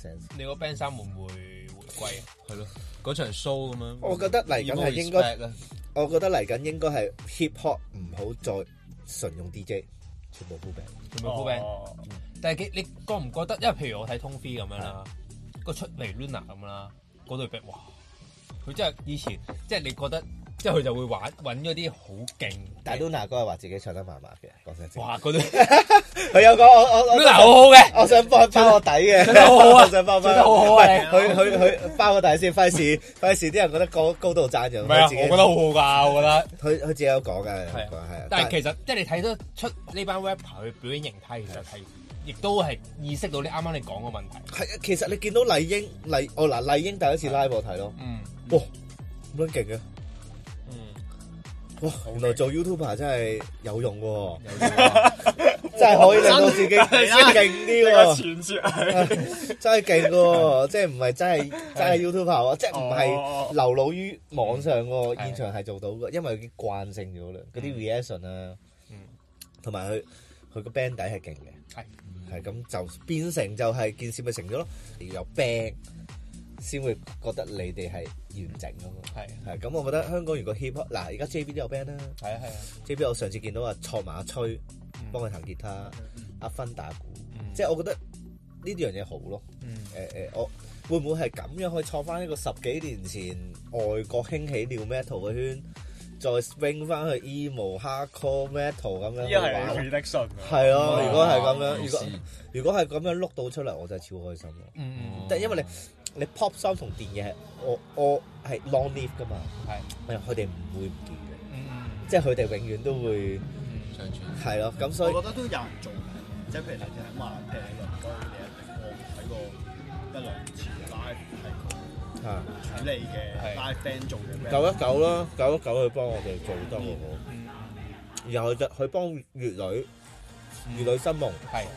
sense。 你個 band 衫會唔會回歸啊？係咯，嗰場 show 咁樣。 我覺得嚟緊係應該，我覺得嚟緊應該係 hip hop 唔好再純用 DJ， 全部 full band， 全部 full band。但係你覺唔覺得？因為譬如我睇 Tone Free 咁樣啦，個出嚟 Luna 咁啦，嗰對 band 哇，佢真係以前即係你覺得。即係佢就會揾嗰啲好勁， 但係 Luna 哥係話自己唱得麻麻嘅，講真真。 哇！嗰啲佢有講我 Luna 好好嘅， 我想幫佢包個底嘅， 唱得好好啊， 我想幫唱得好好啊！ 佢包個底先，費事啲人覺得高度讚咗。 唔係啊，我覺得好好㗎，我覺得。 佢自己有講嘅，係啊。 但係其實即係你睇得出呢班 rapper 去表演形態，其實係亦都係意識到你啱啱你講個問題。 係啊，其實你見到麗英麗英第一次 live 我睇咯，哇咁樣勁嘅。哇！原來做 YouTuber 真係有用喎，真係可以令到自己勁啲喎。傳說真係勁喎，即係唔係真係 YouTuber 喎，即係唔係流露於網上喎，現場係做到嘅，因為佢慣性咗啦，嗰啲 reaction 啊，同埋佢個 band 底係勁嘅，係咁就變成就係件事咪成咗咯，要有 band。先會覺得你哋係完整啊嘛，係咁，我覺得香港如果 hip hop 嗱，而家 JB 都有 band 啦，係啊 JB 我上次見到錯埋阿崔幫佢彈吉他，阿芬打鼓，即係我覺得呢樣嘢好咯，我會唔會係咁樣可以創翻一個10幾年前外國興起 new metal 嘅圈，再 swing 翻去 emo hardcore metal 咁樣，呢個係 prediction，係咯，如果係咁樣，如果係咁樣碌到出嚟，我真係超開心咯，但係因為你 pop song 同電影係我係 long live 噶嘛，係佢哋唔會唔見嘅，即係佢哋永遠都會長存，係咯，咁所以我覺得都有人做嘅，即係譬如你睇話譬如鄰居你一定我睇過1、2次 live 係佢處理嘅 live band 做嘅 919啦，919佢幫我哋做得好好，然後佢幫粵女新夢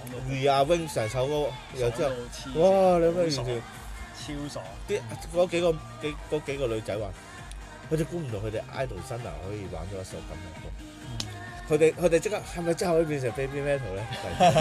We Are Wings 成首歌，然後之後哇你咩完全〜超爽！嗰幾個女仔話，佢哋估唔到佢哋 idol 生涯可以玩咗一首咁嘅歌。佢哋即刻係咪真係可以變成 baby metal 咧？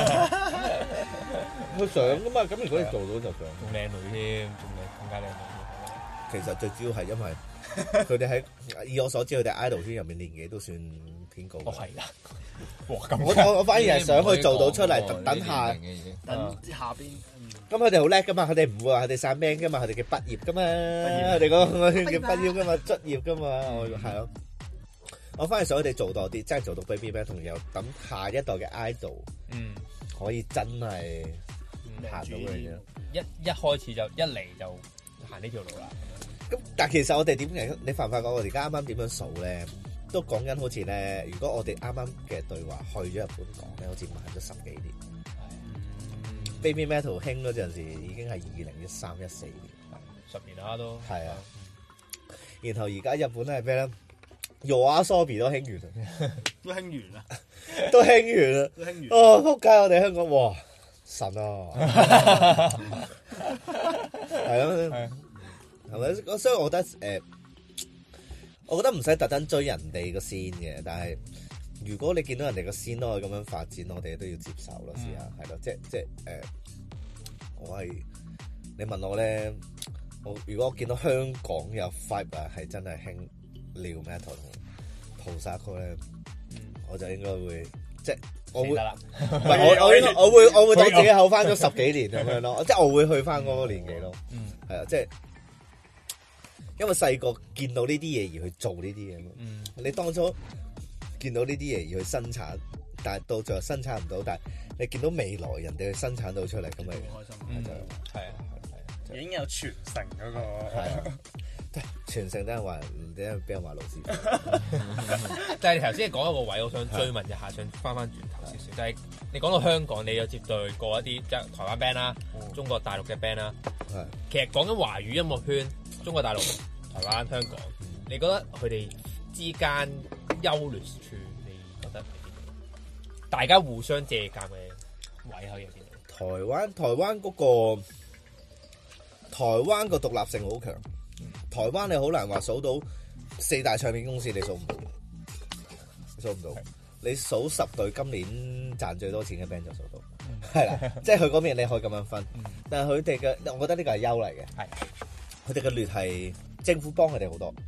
佢想噶嘛？咁如果你做到就想。仲靚女添，仲更加靚女。其實最主要係因為佢哋喺以我所知，佢哋 idol 圈入面年紀都算偏高。哦，係啦。我反而係想去做到出嚟，等下邊。咁佢哋好叻噶嘛，佢哋唔會話佢哋散 band 噶嘛，佢哋叫畢業噶嘛，佢哋講叫畢業噶嘛，卒業噶嘛，係咯。我反而想佢哋做多啲，真係做到 baby band，同又等下一代嘅 idol，可以真係行到嘅嘢。一開始就一嚟就行呢條路啦。咁但係其實我哋點嚟？你發唔發覺我哋而家啱啱點樣數咧？都講緊好似咧，如果我哋啱啱嘅對話去咗日本講咧，好似慢咗10幾年。Baby Metal 興嗰陣時已經係2013、14年，10年啦都。係啊，然後而家日本係咩咧？YOASOBI 都興完啦， 都興完啦， 都興完啦， 都興完。 哦，仆街！我哋香港哇神啊，係啊，係咪？所以我覺得我覺得唔使特登追人哋個先嘅，但係。如果你見到人哋個線都可以咁樣發展，我哋都要接受咯，試下係咯，即我係你問我咧，如果我見到香港有 vibe 啊，係真係興 new metal 同 post-hardcore 咧，我就應該會即係我會，唔係我會當自己後翻咗10幾年咁樣咯，即係我會去翻嗰個年紀咯，係啊，即係因為細個見到呢啲嘢而去做呢啲嘢嘛，你當初。見到呢啲嘢而去生產，但係到最後生產唔到，但係你見到未來人哋去生產到出嚟，咁咪好開心。係啊， 已經有傳承嗰個。係啊， 傳承都係話，俾人話老師。 但係你頭先講一個位，我想追問一下，想翻轉頭少少，就係你講到香港，你有接待過一啲即係台灣 band 啦，中國大陸嘅 band 啦。係。其實講緊華語音樂圈，中國大陸、台灣、香港，你覺得佢哋之間優劣處，你覺得大家互相借鑑嘅位喺入邊？ 台灣個獨立性好強，台灣你好難話數到4大唱片公司，你數唔到， 你數10隊今年賺最多錢嘅 band 就數到，係啦，即係佢嗰邊你可以咁樣分，但係佢哋嘅，我覺得呢個係優嚟嘅，係佢哋嘅劣係政府幫佢哋好多，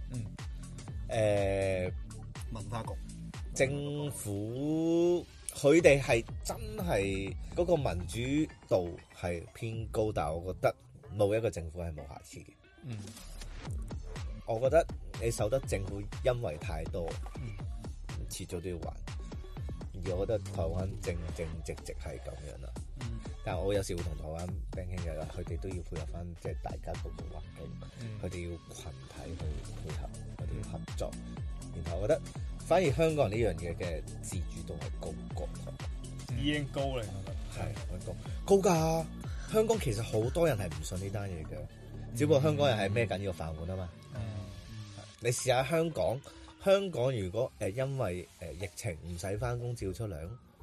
文化局政府佢哋係真係嗰個民主度係偏高，但係我覺得冇一個政府係冇瑕疵嘅，我覺得你受得政府因為太多，遲早都要還。而我覺得台灣正直係咁樣啦。但係我有時會同台灣 band 傾偈啦，佢哋都要配合翻即係大家個環境，佢哋要群體去配合，佢哋要合作。然後我覺得反而香港人呢樣嘢嘅自主度係高過台灣， 已經高嚟，我覺得係高㗎。香港其實好多人係唔信呢單嘢嘅，只不過香港人係孭緊呢個飯碗啊嘛。你試下香港如果因為疫情唔使翻工照出糧，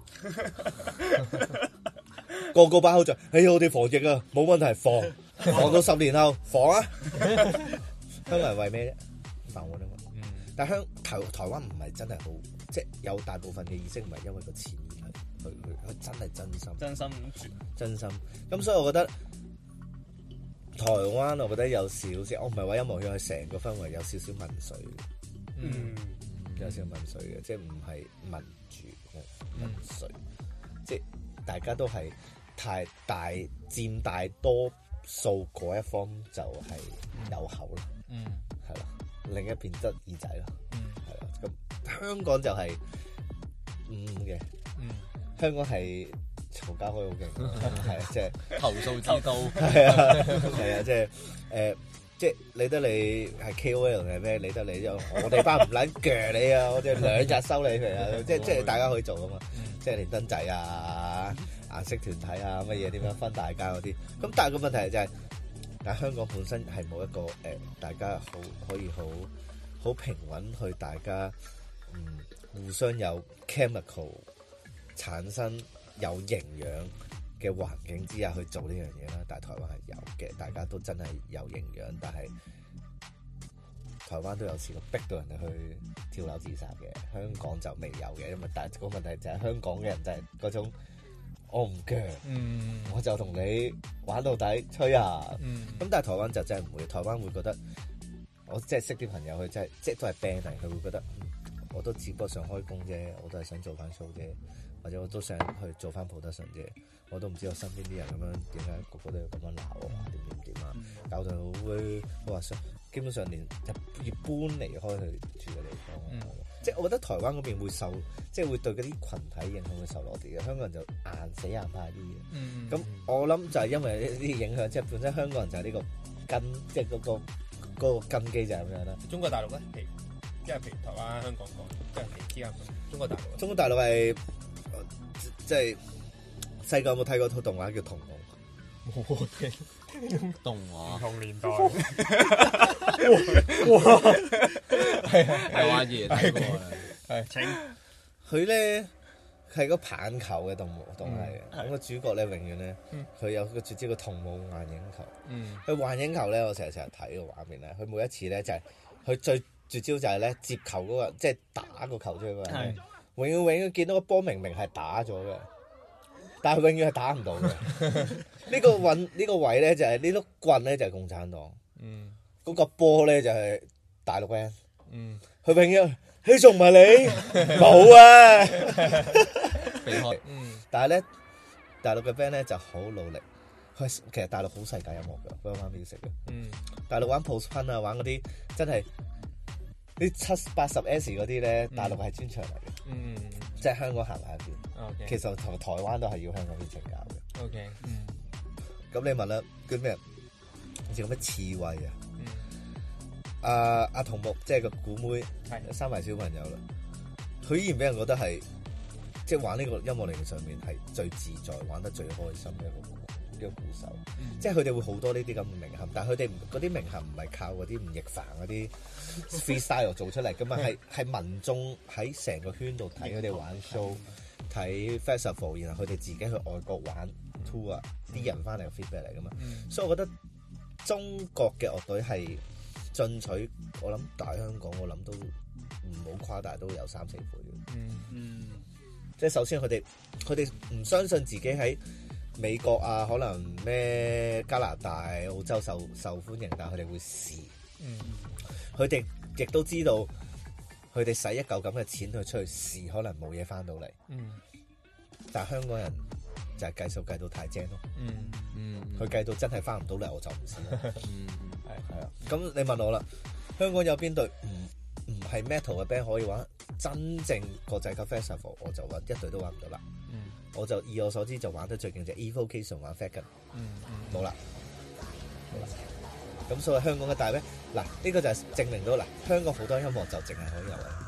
個把口就我哋防疫啊，冇問題，防到10年後防啊！香港人為咩啫？飯碗啊嘛。但係台灣唔係真係好，即係有大部分嘅意識唔係因為個錢而佢真係真心。咁所以我覺得台灣，我覺得有少少，我唔係話音樂圈，係成個氛圍有少少民粹。有少少民粹嘅，即係唔係民主民粹，即係大家都係佔大多數嗰一方就係有口啦，係啦，另一邊得耳仔啦，係啦，咁香港就係嘅，香港係嘈交開好勁，係啊，即係投訴之都， 係啊，即係理得你係 KOL 定係咩？理得你之後，我哋班唔撚鋸你啊！我哋2日收你佢啊！即係大家可以做啊嘛！即係連登仔啊、顏色團體啊乜嘢點樣分大家嗰啲。咁但係個問題就係，但係香港本身係冇一個大家可以好平穩去大家互相有 chemical 產生有營養嘅環境之下去做呢樣嘢啦，但係台灣係有嘅，大家都真係有營養，但係台灣都有試過逼到人哋去跳樓自殺嘅，香港就未有嘅，因為但係個問題就係香港嘅人就係嗰種我唔鋸，我就同你玩到底吹下，咁但係台灣就真係唔會，台灣會覺得我即係識啲朋友佢真係即係都係 band 嚟，佢會覺得我都只不過想開工啫，我都係想做翻 show 啫。或者我都想去做翻 production 啫，我都唔知我身邊啲人咁樣點解個個都要咁樣鬧我啊，點啊，搞到我話基本上連要搬離開佢住嘅地方，即係我覺得台灣嗰邊會受，即係會對嗰啲群體影響會受落啲嘅，香港人就硬死硬派啲嘅。咁我諗就係因為呢啲影響，即係本身香港人就係呢個根，即係嗰個根基就係咁樣啦。 中國大陸咧，即係譬如台灣、香港講，即係之間中國大陸。 中國大陸係。即係細個有冇睇過套動畫叫《童夢》？ 冇聽動畫， 唔同年代。 哇！係玩嘢睇過啊！係請佢咧係個棒球嘅動畫嚟嘅。咁個主角咧永遠咧，佢有個絕招叫童夢幻影球。佢幻影球咧，我成日睇個畫面咧。佢每一次咧就係佢最絕招就係咧接球嗰個，即係打個球出去嗰個人。永遠見到個波明係打咗嘅，但係永遠係打唔到嘅。呢個位咧就係呢碌棍咧就係共產黨，嗰個波咧就係大陸 band。佢永遠你仲唔係你冇啊？避開。但係咧大陸嘅 band 咧就好努力。其實大陸好世界音樂㗎，佢玩 music 嘅。大陸玩 post punk 啊，玩嗰啲真係。啲780S 嗰啲咧，大陸係專長嚟嘅，即係香港行埋一邊。其實同台灣都係要香港邊請教嘅。咁你問啦，叫咩？好似咁咩刺猬啊？阿童木即係個鼓妹，生埋小朋友啦。佢依然俾人覺得係，即係玩呢個音樂領域上面係最自在、玩得最開心嘅一個鼓手。即係佢哋會好多呢啲咁嘅名銜，但係佢哋嗰啲名銜唔係靠嗰啲吳亦凡嗰啲 freestyle 做出嚟噶嘛，係民眾喺成個圈度睇佢哋玩 show、睇 festival， 然後佢哋自己去外國玩 tour 啊，啲人翻嚟嘅 feedback 嚟噶嘛。所以我覺得中國嘅樂隊係進取，我諗大香港我諗都唔好誇大都有3-4倍。即係首先佢哋唔相信自己喺美國啊，可能咩加拿大、澳洲受歡迎，但係佢哋會試。佢哋亦都知道，佢哋使一嚿咁嘅錢去出去試，可能冇嘢翻到嚟。但係香港人就係計數計到太精咯。佢計到真係翻唔到嚟，我就唔試啦。係啊。咁你問我啦，香港有邊隊唔係 metal 嘅 band 可以玩真正國際級 festival？ 我就揾一隊都揾唔到啦。我就以我所知就玩得最勁就 Evocation 玩 Fat Gun，冇啦。咁所以香港嘅大 band 嗱，呢個就係證明到嗱，香港好多音樂就淨係可以有啦。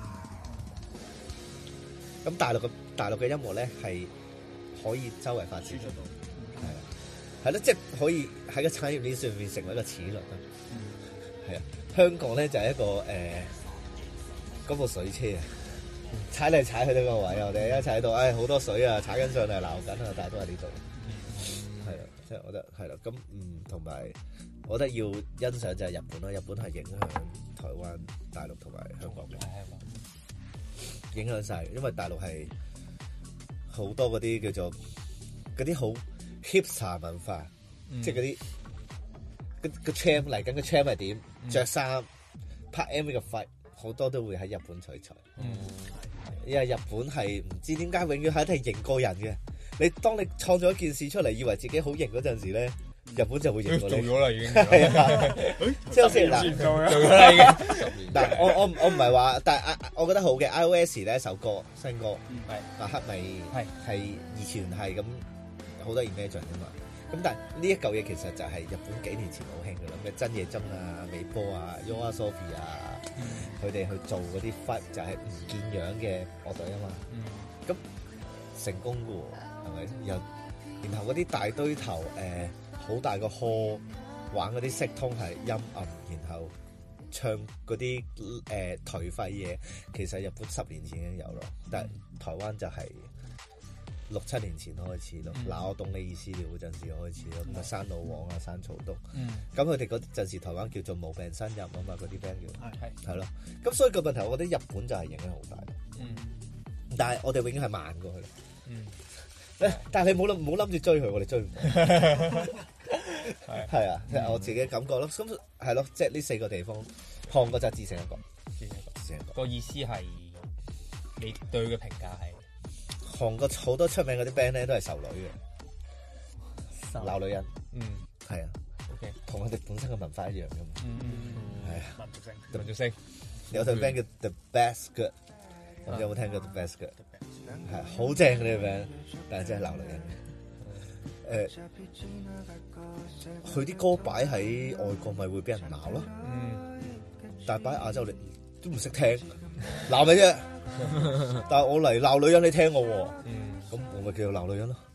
咁大陸嘅音樂咧係可以周圍發展得到，係咯，即係可以喺個產業鏈上面成為一個齒輪啦。係啊，香港咧就係一個嗰部水車啊，踩嚟踩去呢個位，我哋一踩到，好多水啊，踩緊上嚟鬧緊啊，但係都喺呢度。係啊，即係我覺得係啦。咁同埋我覺得要欣賞就係日本啦，日本係影響台灣、大陸同埋香港嘅，影響晒，因為大陸係好多嗰啲叫做嗰啲好 hipster 文化，即係嗰啲個 champ 嚟緊個 champ 係點，着衫拍 MV 嘅費好多都會喺日本取材。因為日本係唔知點解永遠係一定型過人嘅。當你創造一件事出嚟，以為自己好型嗰陣時咧，日本就會型過你。做咗啦已經。係啊，即係好似嗱，做咗啦已經。嗱，我唔係話，但係我覺得好嘅 iOS 咧首歌新歌，黑米係二次元係咁好多 imagine 㗎嘛。咁但係呢一嚿嘢其實就係日本幾年前好興㗎啦，咩真野真啊、美波啊、YOASOBI 啊，佢哋去做嗰啲 fight 就係唔見樣嘅樂隊啊嘛。咁成功㗎喎，係咪？然後嗰啲大堆頭好大個 hall 玩嗰啲色通係陰暗，然後唱嗰啲頹廢嘢，其實日本10年前已經有咯，但係台灣就係6-7年前開始咯。嗱，我懂你意思了嗰陣時開始咯，咁啊山老王啊、山草東，咁佢哋嗰陣時台灣叫做無病呻吟啊嘛，嗰啲 band 叫係咯。咁所以個問題，我覺得日本就係影響好大。但係我哋永遠係慢過去。但係你唔好諗住追佢，我哋追唔到。係啊，即係我自己感覺咯。咁係咯，即係呢4個地方，韓國就只剩一個。 個意思係你對佢嘅評價係？ 韓國好多出名嗰啲 band 咧都係仇女嘅，鬧女人。係啊。OK， 同我哋本身嘅文化一樣嘅嘛。係啊。民族性。有隊 band 叫 The Best Good， 你有冇聽過 The Best Good？ 係好正嘅呢個 band，但係真係鬧女人。佢啲歌擺喺外國咪會俾人鬧咯。但係擺喺亞洲你都唔識聽，鬧你啫。但係我嚟鬧女人，你聽我喎。咁我咪叫做鬧女人咯。